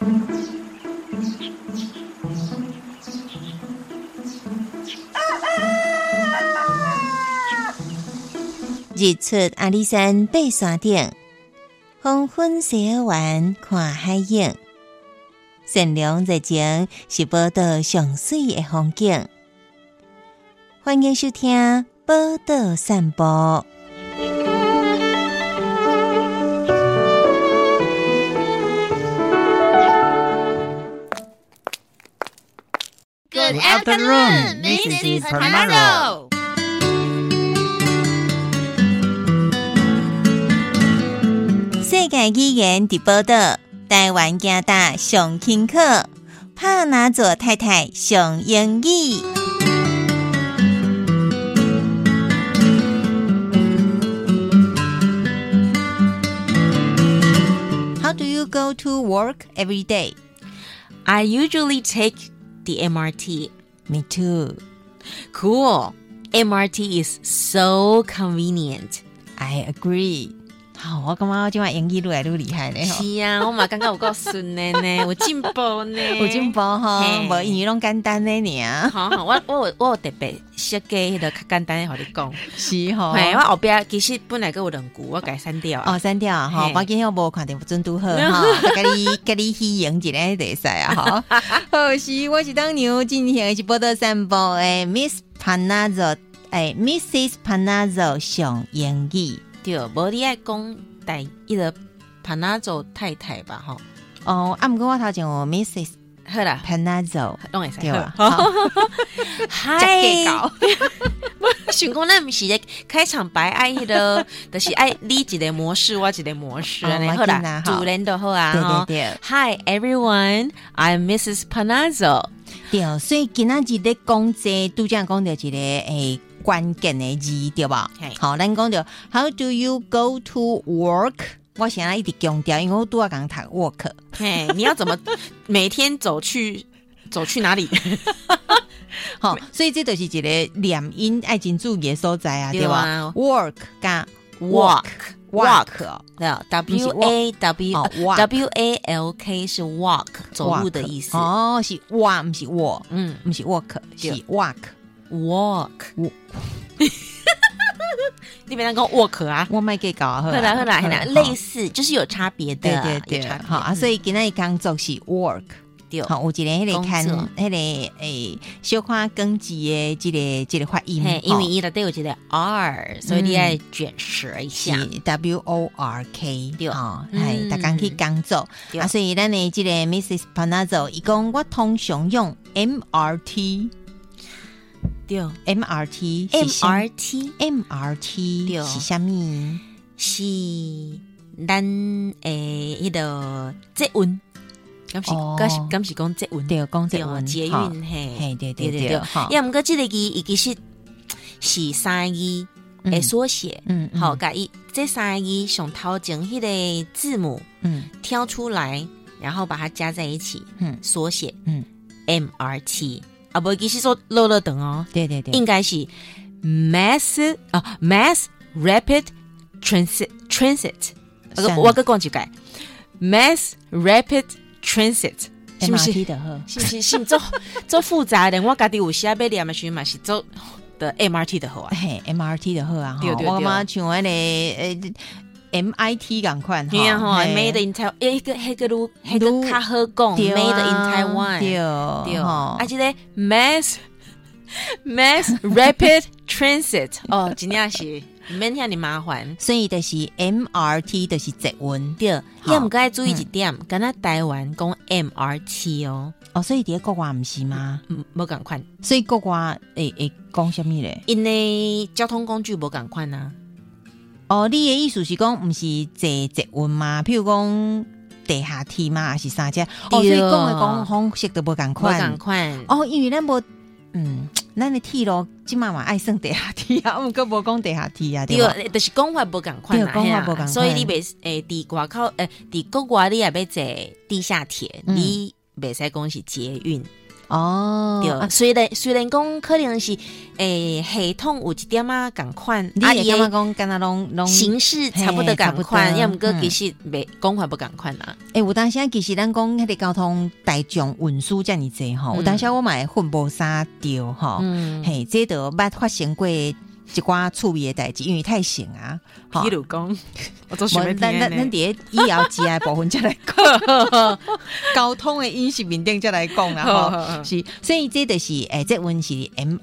日出阿里山爬山顶，黄昏西尔湾看海影。善良热情是宝岛上水的风景。欢迎收听宝岛散步。 Good afternoon, Mrs. Panaro. 世界语言伫宝岛，台湾加大上轻课，帕拿佐太太上英语。How do you go to work every day? I usually take the MRT. Me too. Cool. MRT is so convenient. I agree. 好，我感觉我今晚英语越来越厉害呢。 是啊，我嘛感觉有够顺的呢，有进步呢， 有进步哈，无英语拢简单的呢。 好好，我有特别设计迄个较简单的，和你讲。 是吼， 嘿，我后边其实本来还有2句，我改删掉。 哦，删掉哈，我今天我无看到准拄好哈，甲你喜迎一个就使啊哈。好，是我是当牛，今天是报道散步诶 ，Miss Panazzo 诶 ，Mrs. Panazzo 上英语。 对，无你爱讲迄个Panazzo太太吧，吼。 哦，毋过我头前有 Mrs. 好啦 Panazzo 拢会使对吧？ 嗨，我想讲，咱毋是咧开场白爱迄个，就是爱你一个模式，我一个模式安尼好啦，自然就好啊。 对对对。 Hi everyone, I'm Mrs. Panazzo。 对，所以今仔日咧讲这拄则讲到一个诶。关键的字对吧？好，咱讲到 How do you go to work？ 我现在一直强调，因为我拄仔刚读 work。 嘿，你要怎么每天走去哪里？ 好，所以这就是一个连音爱真注意的所在啊，对吧 ？Work 加 walk， 对 W A L K 是 walk 走路的意思。 哦，是 walk 不是 walk， 不是 walk 是 walk。 你别当讲 walk 啊， 我没给搞啊， 好啦，类似就是有差别的， 对，好啊，所以今天工作是 work， 对，好，有一个迄个看迄个诶，小看根字的这个发音， 因为伊内底有一个 R， 所以你要卷舌一下， 是 WORK， 对，哈，系大家去工作啊，所以咱的这个 Mrs. Panazzo， 伊讲我通常用 MRT。 对 MRT 是啥物？ 是咱迄个捷运，敢是讲捷运？ 对，讲捷运， 捷运嘿，对。 要毋过这个字伊其实是三个字的缩写，好，甲伊这三个字上头前迄个字母，挑出来，然后把它加在一起，缩写，MRT。啊，不，其实说乐等哦， 对， 应该是 Mass Rapid Transit。我个讲一改 Mass Rapid Transit， 是不是？是做复杂的，我家己有时要念的时候嘛是做的 MRT 的好啊， 嘿 ，MRT 的好啊， 对， 我嘛像那个MIT 咁款， 对啊，哈 ，Made in Taiwan， 迄个较好讲 ，Made in Taiwan， 对，啊，这个 Mass Rapid Transit， 哦，真正是免遐尼麻烦， 所以就是 MRT 就是捷运， 对，也毋该注意一点，敢若台湾讲 MRT 哦， 所以伫国外毋是吗？ 无共款， 所以国外会讲什么咧？ 因为交通工具无共款啊。 哦，你的意思是讲，毋是坐捷运吗？譬如讲地下铁吗？还是啥只？所以讲的讲方式都无共款。哦，因为咱无，咱的铁路即嘛嘛爱算地下铁啊，毋过无讲地下铁啊，对吧？ 对，就是讲法无共款啦， 讲法无共款。 所以你袂伫外口伫国外你也要坐地下铁，你袂使讲是捷运。 哦， 对，虽然讲可能是系统有一点啊共款， 你会感觉讲敢若拢形式差不多共款，要毋过其实袂讲法不共款啦。 有当时其实咱讲迄个交通大众运输遮尔济吼，有当时我嘛会混无啥着吼，嘿，这都捌发生过一寡趣味的代志，因为太省啊。 比如讲，我做想要听的。 咱伫以后之的部分再来讲，交通的饮食面顶再来讲啦吼。是，所以这就是这阮是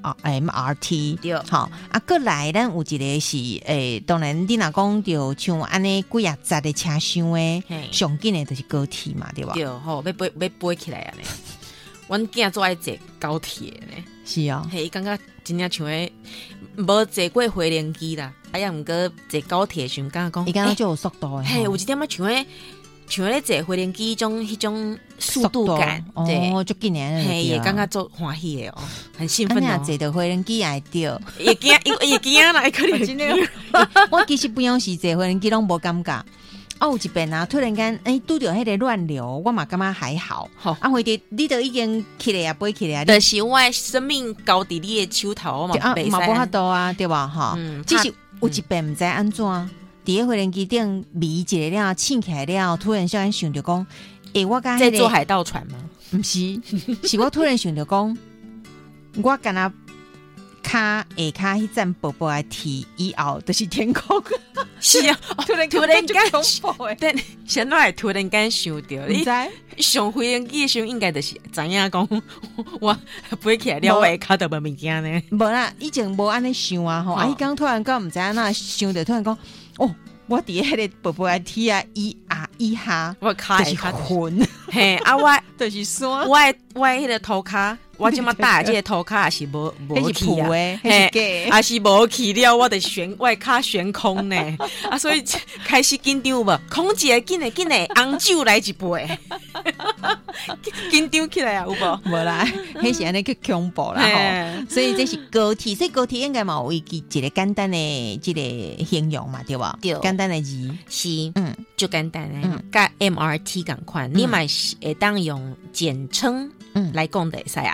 MRT 对，好啊。过来咱有一个是当然你若讲着像安尼几啊十的车厢的，上紧的就是高铁嘛，对吧？ 对，好要飞起来啊呢。阮囝做爱坐高铁呢， 是啊， 嘿，感觉真正像诶，无坐过回连机啦，呀，毋过坐高铁时感觉讲， 伊感觉就有速度诶， 嘿，有一点仔像咧坐回连机迄种速度感， 对，就紧诶， 嘿，也感觉做欢喜诶哦，很兴奋哦， 坐到回连机也着， 也惊啦，可能真诶， 我其实不用是坐回连机拢无感觉。有一遍啊，突然间拄着迄个乱流，我嘛感觉还好。或者你都已经起来啊，飞起来啊， 就是我的生命交伫你的手头嘛， 嘛无法度啊，对吧？哈，只是有一遍毋知安怎，伫个飞行机顶迷一个了，醒起来了，突然想着讲，我甲在坐海盗船吗？ 毋是，是我突然想着讲，我敢若下骹迄站薄薄的铁以后就是天空， 是啊，突然间但现在突然间想到，你上飞行机的时候应该就是知影讲，我飞起来了，我下骹就无物件呢。 无啦，以前无安尼想啊吼，伊刚突然间毋知影哪想着，突然讲哦。我伫迄个薄薄的铁啊，以下我骹就是云， 嘿啊，我就是山， 我迄个涂骹，我即马搭即个涂骹也是无去啊， 嘿， 也是无去了，我的我骹悬空呢，啊，所以开始紧张无，空姐紧诶，红酒来一杯，紧张起来啊，有无？ 无啦，迄是安尼去恐怖啦吼，所以这是高铁，所以高铁应该嘛有一个简单的即个形容嘛，对吧？ 对， 简单的字是，就简单的，甲 MRT 共款，你嘛会当用简称来讲的会使啊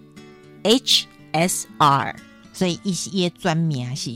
，HSR， 所以伊的专名是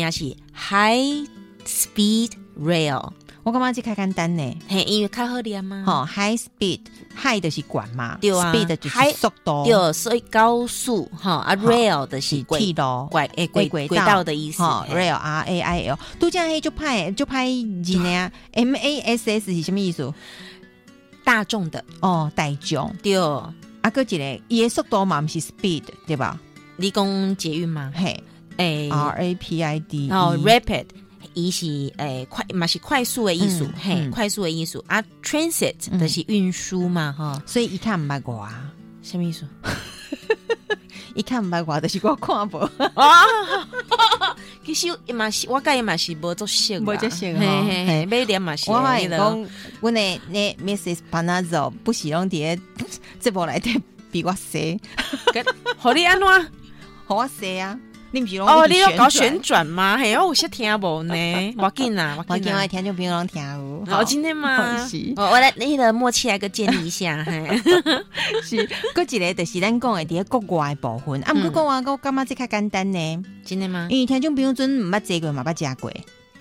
High Speed Rail。 我感觉这较简单呢， 嘿，因为较好念嘛。 吼 ，High Speed，High 就是管嘛， 对啊 ，Speed 就是速度， 对，所以高速哈啊 ，Rail 的是铁路轨道的意思 ，Rail RAIL， 都这样黑就派字呢，MASS 是什么意思？ 大众的大众对， 个一个伊的速度嘛，不是 Speed 对吧？ 你讲捷运吗？ 嘿，RAPID， Rapid。伊是快嘛是快速的意思，嘿，快速的意思啊 ，transit 的是运输嘛，哈， 所以伊看毋捌我， 什么意思？ 伊看毋捌我，就是我看无啊。其实嘛是，我甲伊嘛是无作熟， 无作熟， 嘿嘿，每年嘛是。 我发现讲，阮的那 Mrs. Panazzo 不是拢伫这部内底比我细， 互你安怎？ 互我细啊！你不是你要搞旋转吗？嘿，我有些听无呢，我紧啊， 我紧，我听就不用听有。 好，今天嘛，我来那个默契来个建立一下， 是，搁一个就是咱讲的伫国外部分，啊，不过国外我感觉这较简单呢， 真的吗？ 因为听众朋友阵毋捌坐过嘛，捌食过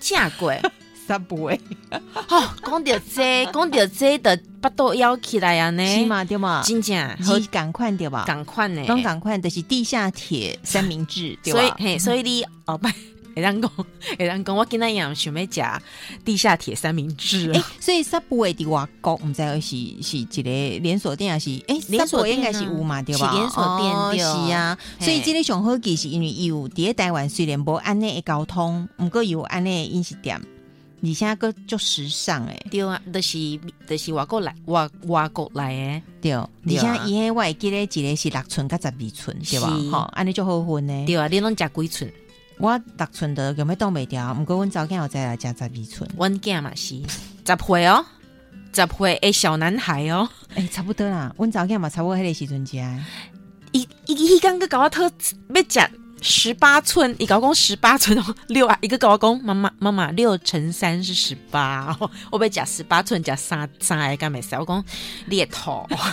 ，Subway， 讲到这的巴肚枵起来啊呢， 是嘛对嘛， 真正好赶快对吧？ 赶快呢， 拢赶快就是地下铁三明治，对吧？ 所以你会当讲，我今仔样想要食地下铁三明治， 所以 Subway 伫外国毋知是一个连锁店还是连锁店应该是有嘛对吧？ 是连锁店是啊，所以这个上好奇是因为有伫台湾虽然无安尼的交通，毋过有安尼的饮食店。你现在个就时尚对啊，就是外国来的对，你现在伊迄我会记得一个是6寸甲12寸对吧？吼，安尼就好分呢。 对啊，你拢食几寸？ 我6寸的有没挡袂掉？毋过阮早间有再来食12寸， 阮囝嘛是10岁哦，10岁的小男孩哦， 差不多啦。阮早间嘛差不多迄个时阵食。 伊刚个搞我特要食18寸，伊甲我讲18寸哦，6啊，一个甲我讲妈妈6乘3是18，我要食18寸，食3个敢袂使？我讲你会吐，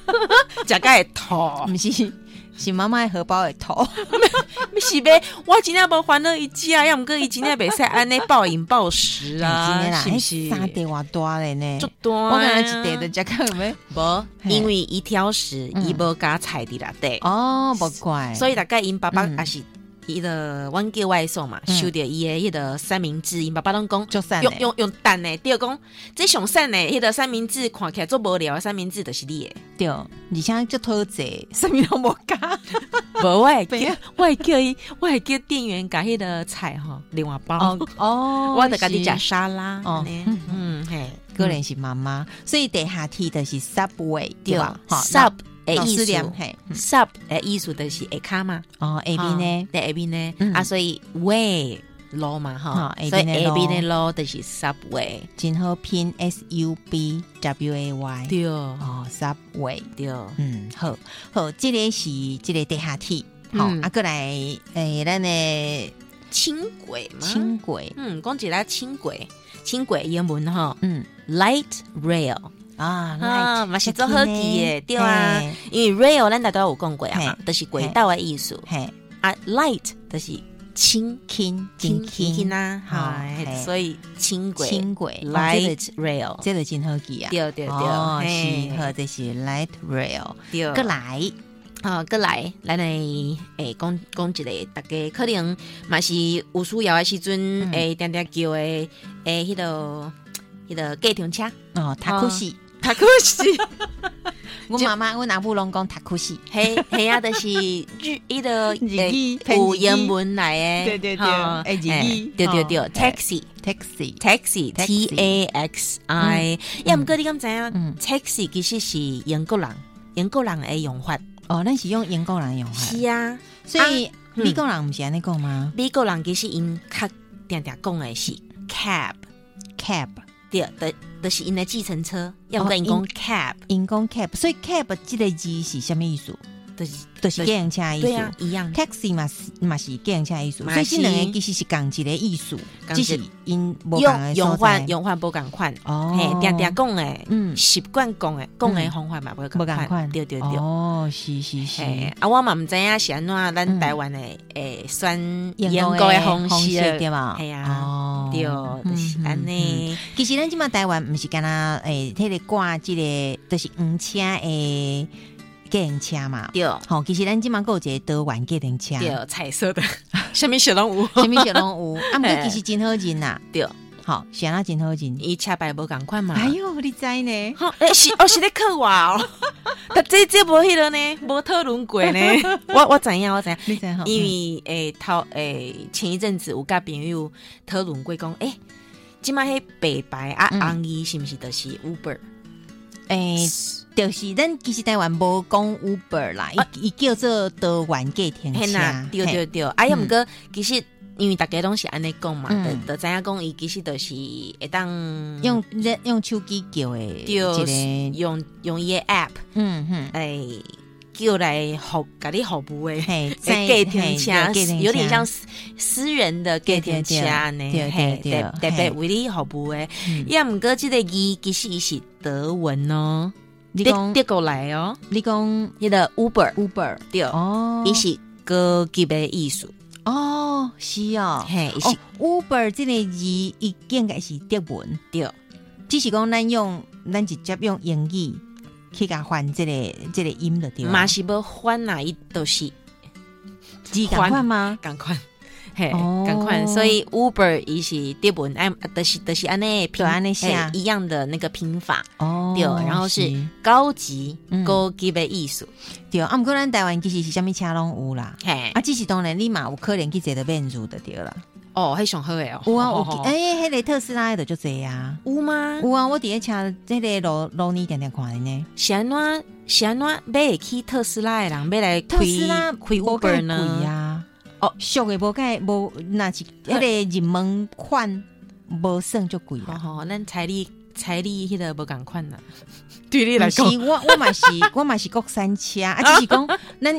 食个会吐， 不是。是妈妈的荷包会吐， 是呗？我今天无烦恼一家，要唔过伊今天袂使安尼暴饮暴食啊？ 是不是？三地偌大嘞呢？ 足大， 我感觉一地就食个咩？ 无，因为伊挑食，伊无加菜伫内底。 哦，无怪。 所以大概因爸爸也是。伊的阮叫外送嘛，收到伊的迄个三明治，因爸爸拢讲用蛋呢，对讲这上瘦呢，迄个三明治看起来做无聊的三明治就是你的， 对，而且足讨济，什么都无加， 无我会叫店员甲迄个菜吼另外包哦，我得家己食沙拉哦， 嘿，个人是妈妈，所以地下铁的是 Subway 对吧 ？Sub 的意思 ，sub 的意思就是下骹嘛。 哦 ，A B 呢？ 对 A B 呢？啊，所以 way 路嘛哈，所以 A B 的路就是 subway， 真好拼 SUBWAY。 对哦 ，subway 对， 好，这个是这个地下铁，好，过来咱的轻轨嘛， 轻轨， 讲起来轻轨英文哈，light rail。嘛是做好记的，对啊，因为 rail 咱大家有讲过啊嘛，就是轨道的意思。啊 ，light 就是轻啊，所以轻轨 light rail， 这个真好记啊。 对， 是好，这是 light rail。 对，过来，咱来讲一个，大家可能嘛是有需要的时阵，定定叫的迄个计程车哦，塔库西。我妈妈，我阿母拢讲塔库西， 嘿啊，就是日的有英文来的，对， 对 ，taxi taxi， 要唔过你敢知影 taxi 其实是英国人的用法哦，咱是用英国人用法， 是啊， 所以美国人不是安尼讲吗？ 美国人其实因较定讲的是 cab， 对的。就是因的计程车，要不然因讲 cab， 所以 cab 这个字是什么意思？就是计程车的意思， 对啊，一样。 taxi 嘛是计程车的意思，所以这两个其实是同一个意思，只是因无同的用法不同款哦。嘿，定讲的，习惯讲的方法嘛不同款，对。 哦，是。 啊，我嘛唔知影是安怎咱台湾的算英国的方式对吧？ 系啊，对，就是安尼。 其实咱即马台湾唔是干那迄个挂这个，就是黄车的计程车嘛， 对， 好，其实咱即马有一个德玩计程车， 对，彩色的，什么小拢有， 啊，毋过其实真好认呐， 对， 好，是安那真好认， 伊车牌无共款嘛， 哎呦，你知呢？ 是咧刻我哦，但这无迄个呢，无讨论过呢，我知影， 你知影， 因为前一阵子有甲朋友讨论过讲，即马迄白牌啊红衣是毋是就是 Uber？ 就是咱其实台湾无讲 Uber 啦，伊叫做德玩计程车， 对。啊，要毋过其实因为大家拢是安尼讲嘛，就知影讲伊其实就是会当用手机叫的， 对，用伊的 app， 叫来甲你服务的计程车，有点像私人的计程车呢，特别为你服务的。要毋过这个字其实是德文哦。德国来哦， 你讲迄个 Uber 对哦， 伊是高级的意思哦，是哦， 嘿， 是 Uber 这个字伊应该是德文对， 只是讲咱直接用英语去甲换这个音的对， 嘛是无换啦，伊都是字共款吗？ 共款。嘿，赶快！所以 Uber 伊是德文，就是安尼拼安尼写一样的那个拼法哦，对，然后是高级的意思， 对。啊，毋过咱台湾其实是啥物车拢有啦， 嘿， 啊，只是当然你嘛有可能去坐到免入的对啦。 哦，迄上好诶哦， 有啊，迄个特斯拉的就这啊， 有吗？ 有啊，我伫咧车迄个路呢定看的呢。 是安怎买去特斯拉的人要来特斯拉开 Uber 呢？ 哦，俗的无那是迄个入门款无算就贵啦。 哦，咱彩礼迄个无共款啦。对你来讲， 我嘛是国产车啊，只是讲咱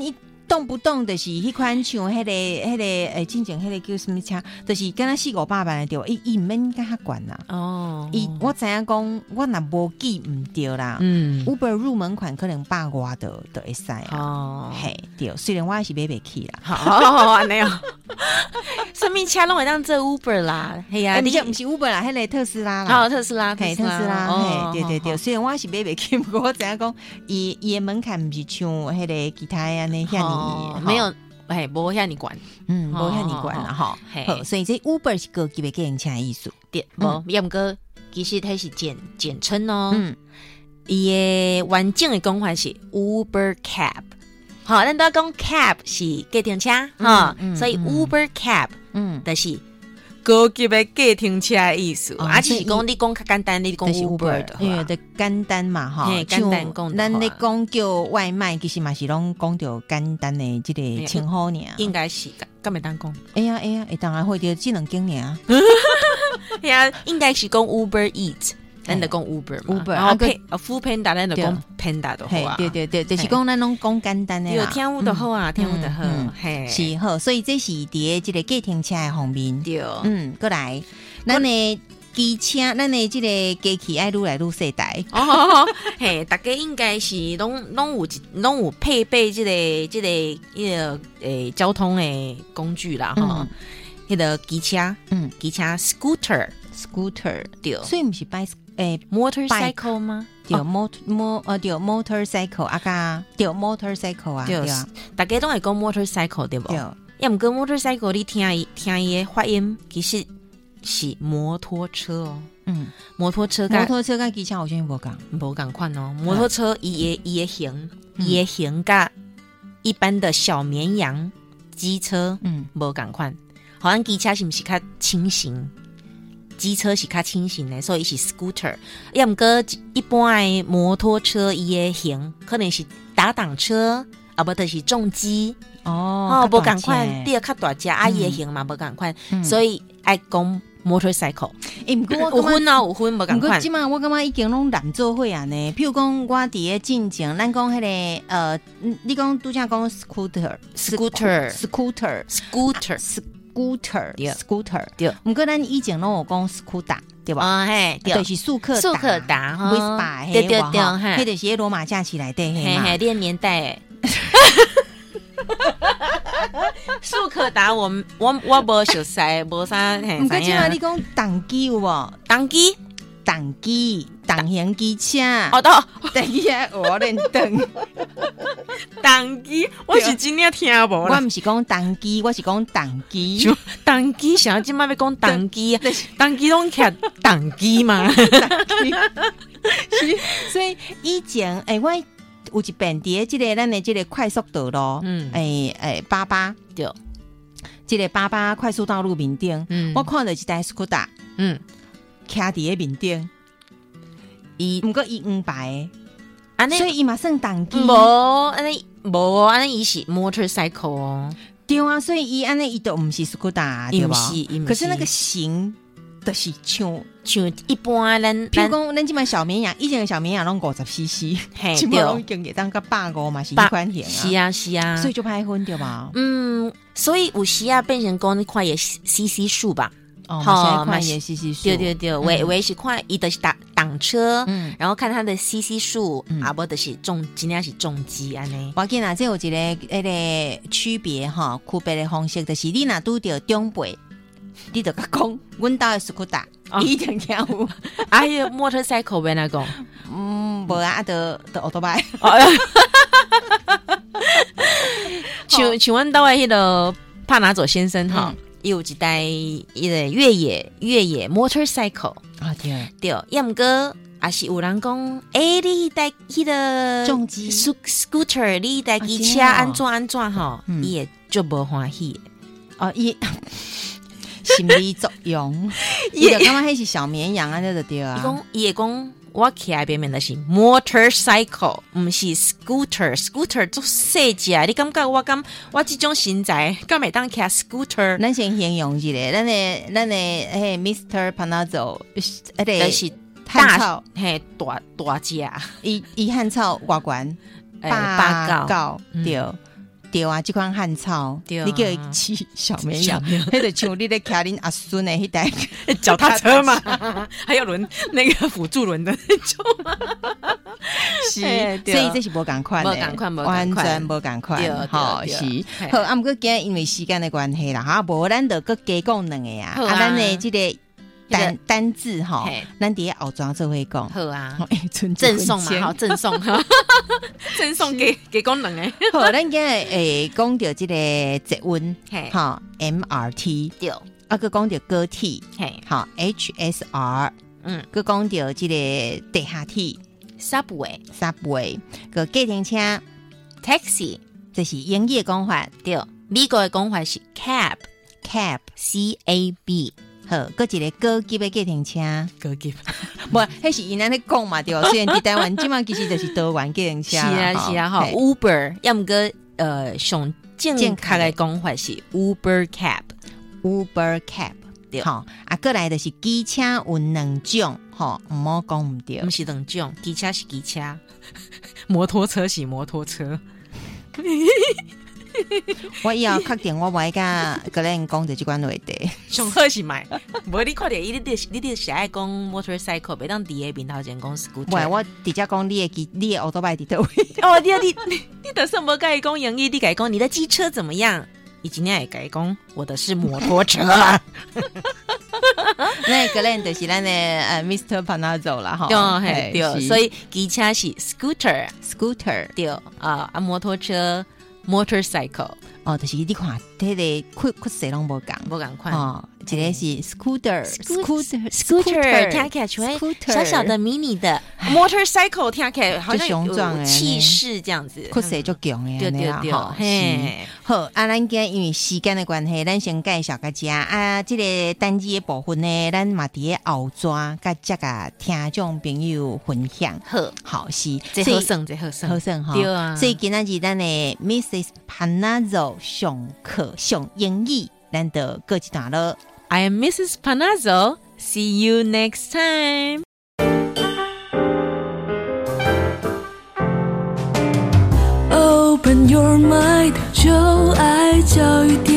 动不动就是迄款像迄个之前迄个叫什么车，就是敢若4-500万的对，伊毋免甲遐悬啦。 哦， 我知影讲，我若无记毋对啦。Uber 入门款可能100多的会使啊。哦，嘿，对，虽然我还是买袂起啦。 好，安尼哦。什么车拢会当做 Uber 啦？嘿呀， 你毋是 Uber 啦，迄个特斯拉啦。 特斯拉， 嘿，特斯拉，嘿，对。虽然我是买袂起，不过我知影讲，伊的门槛毋是像迄个其他安尼遐尼， 没有，无遐尼悬， 无遐尼悬啦吼。好，所以这 Uber 是高级的计程车的意思。 对，无，也毋过其实它是简称哦。伊的完整的讲法是 Uber Cab。好，咱都讲 cab 是计程车哈，所以 Uber Cab 就是高级的计程车的意思。就是讲你讲较简单，你讲 Uber 的， 因为的简单嘛哈， 简单讲， 咱咧讲叫外卖，其实嘛是拢讲到简单的这个称呼尔， 应该是敢袂当讲。 哎呀，会当然会着这两种尔。 哎呀，应该是讲 Uber Eat。咱就讲 Uber 嘛，然后Food Panda 咱就讲 Panda 就好啊。 对，就是讲咱拢讲简单的啦。 有听有就好啊，听有就好，嘿， 是好。所以这是伫这个计程车的方面。 对， 过来，咱的机车，咱的这个机器爱愈来愈世代。 嘿，大家应该是拢有配备这个交通的工具啦，哈，迄个机车，scooter，对， 所以毋是 motorcycle 吗？ 对，motorcycle 啊个，对 motorcycle 啊，对啊， 大家都会讲 motorcycle 对不？对，要毋过 motorcycle 你听伊的发音，其实是摩托车哦。摩托车跟机车好像无共款哦。摩托车伊的形甲一般的小绵羊机车无共款，好像机车是毋是较轻型？机车是较轻型的，所以是 scooter。要毋过一般的摩托车伊的型可能是打挡车，啊不就是重机无共款，第二较大只伊的型嘛无共款，所以爱讲 motorcycle。有分无共款。 即嘛我感觉已经拢难做伙啊呢。譬如讲我伫咧进前，咱讲迄个你讲拄则讲 scooter， 对，毋过咱以前拢有讲 scooter， 对吧？ 嘿， 就是速克达，Vespa， 对，迄就是罗马假期内底嘿嘛， 这年代。速克达，我无熟悉，无啥。 毋过即嘛你讲动机有无？动型机车，第二我练动机，我是真正听无啦。 我毋是讲动机，我是讲动机。 动机啥？即摆要讲动机啊？动机拢徛动机嘛？ 所以以前我有一遍伫即个咱的即个快速道路，88 对， 即个88快速道路面顶，我看到一台 scooter，徛伫咧面顶。毋过伊黄白的，所以伊嘛算动机。 无安尼伊是 motorcycle 哦。 对啊，所以伊安尼伊都毋是 scooter， 对吧？可是那个型就是像一般咱， 譬如讲咱即摆小绵羊，以前的小绵羊拢50cc， 即摆拢已经会当到150嘛，是迄款型啊。是啊， 所以就歹分对吧？ 所以有时啊变成讲你看也 cc 数吧。 看也 cc 数， 对，我是看伊的是挡车，然后看它的 cc 数，无就是真正是重机安尼。 我见这有一个区别哈，区别的方式就是你若拄着长辈，你就讲，阮兜的 scooter， 一定听有。 motorcycle 变哪讲？ 无啊，就奥多拜。 像阮兜的迄个帕拿佐先生哈。有一台一个越野 motorcycle 啊， 对，要毋过也是有人讲，你台迄个重机 scooter， 你台机车安怎吼，伊也就无欢喜伊心理作用，伊就感觉迄是小绵羊啊，就对啊。 伊会讲。我起来边面的是 motorcycle， 不是 scooter 做细只，你感觉我这种身材，敢会当骑 scooter？ 咱先形容一下，咱的Mr. Panazzo， 就是汉草， 大只， 伊汉草外观 8高对。 对啊，这款汉草，你叫伊骑小绵羊，迄就像你咧骑恁阿孙的迄台脚踏车嘛，还有那个辅助轮的那种。 是，所以这是无同款的，完全无同款。好是，好，啊，不过今日因为时间的关系啦，哈，无咱就搁加讲两个啊，咱的这个。单字哈，咱伫后装做会讲， 好啊，赠送嘛，好赠送，赠送给讲两个。 好，咱今日讲到这个捷运，哈 MRT， 对，啊，佮讲到高铁，好 HSR， 佮讲到这个地下铁 Subway， 佮计程车 Taxi， 这是英语的讲法， 对，美国的讲法是 Cab， 好，搁一个高级的计程车，高级， 不，迄是因咱咧讲嘛，对。虽然伫台湾，即马其实就是多元计程车， 是啊，哈 ，Uber， 要么个上正确的讲法是 Uber Cab， 对，好，啊，过来就是机车有两种，吼，唔好讲唔对， 不是两种，机车是机车，摩托车是摩托车。 我以后确定我袂甲个人讲着即款话题， 上好是买，无你看着你是爱讲 motorcycle， 袂当伫个面头前讲 scooter。 喂，我直接讲你的奥多拜伫倒位。 哦，你得什么甲伊讲英语？你甲伊讲你的机车怎么样？以及你也甲伊讲我的是摩托车。 那个人就是咱的Mr. Panazzo 啦，哈， 对，所以机车是 scooter， 对啊，摩托车。motorcycle 哦，就是你看，这个酷势拢无共款哦。一个是 scooter， 听起来小小的、迷你的 motorcycle， 听起来好像有气势这样子， 酷势就强的， 对， 好，啊，咱今因为时间的关系，咱先介绍个遮啊，这个单字的部分呢，咱嘛伫个后转，甲这个听众朋友分享。好是， 这好算哈， 对啊。 所以今仔日咱的 Mrs. Panazzo 上课上英语，咱就过一段落。 I am Mrs. Panazzo. See you next time. Open your mind， 就爱教育电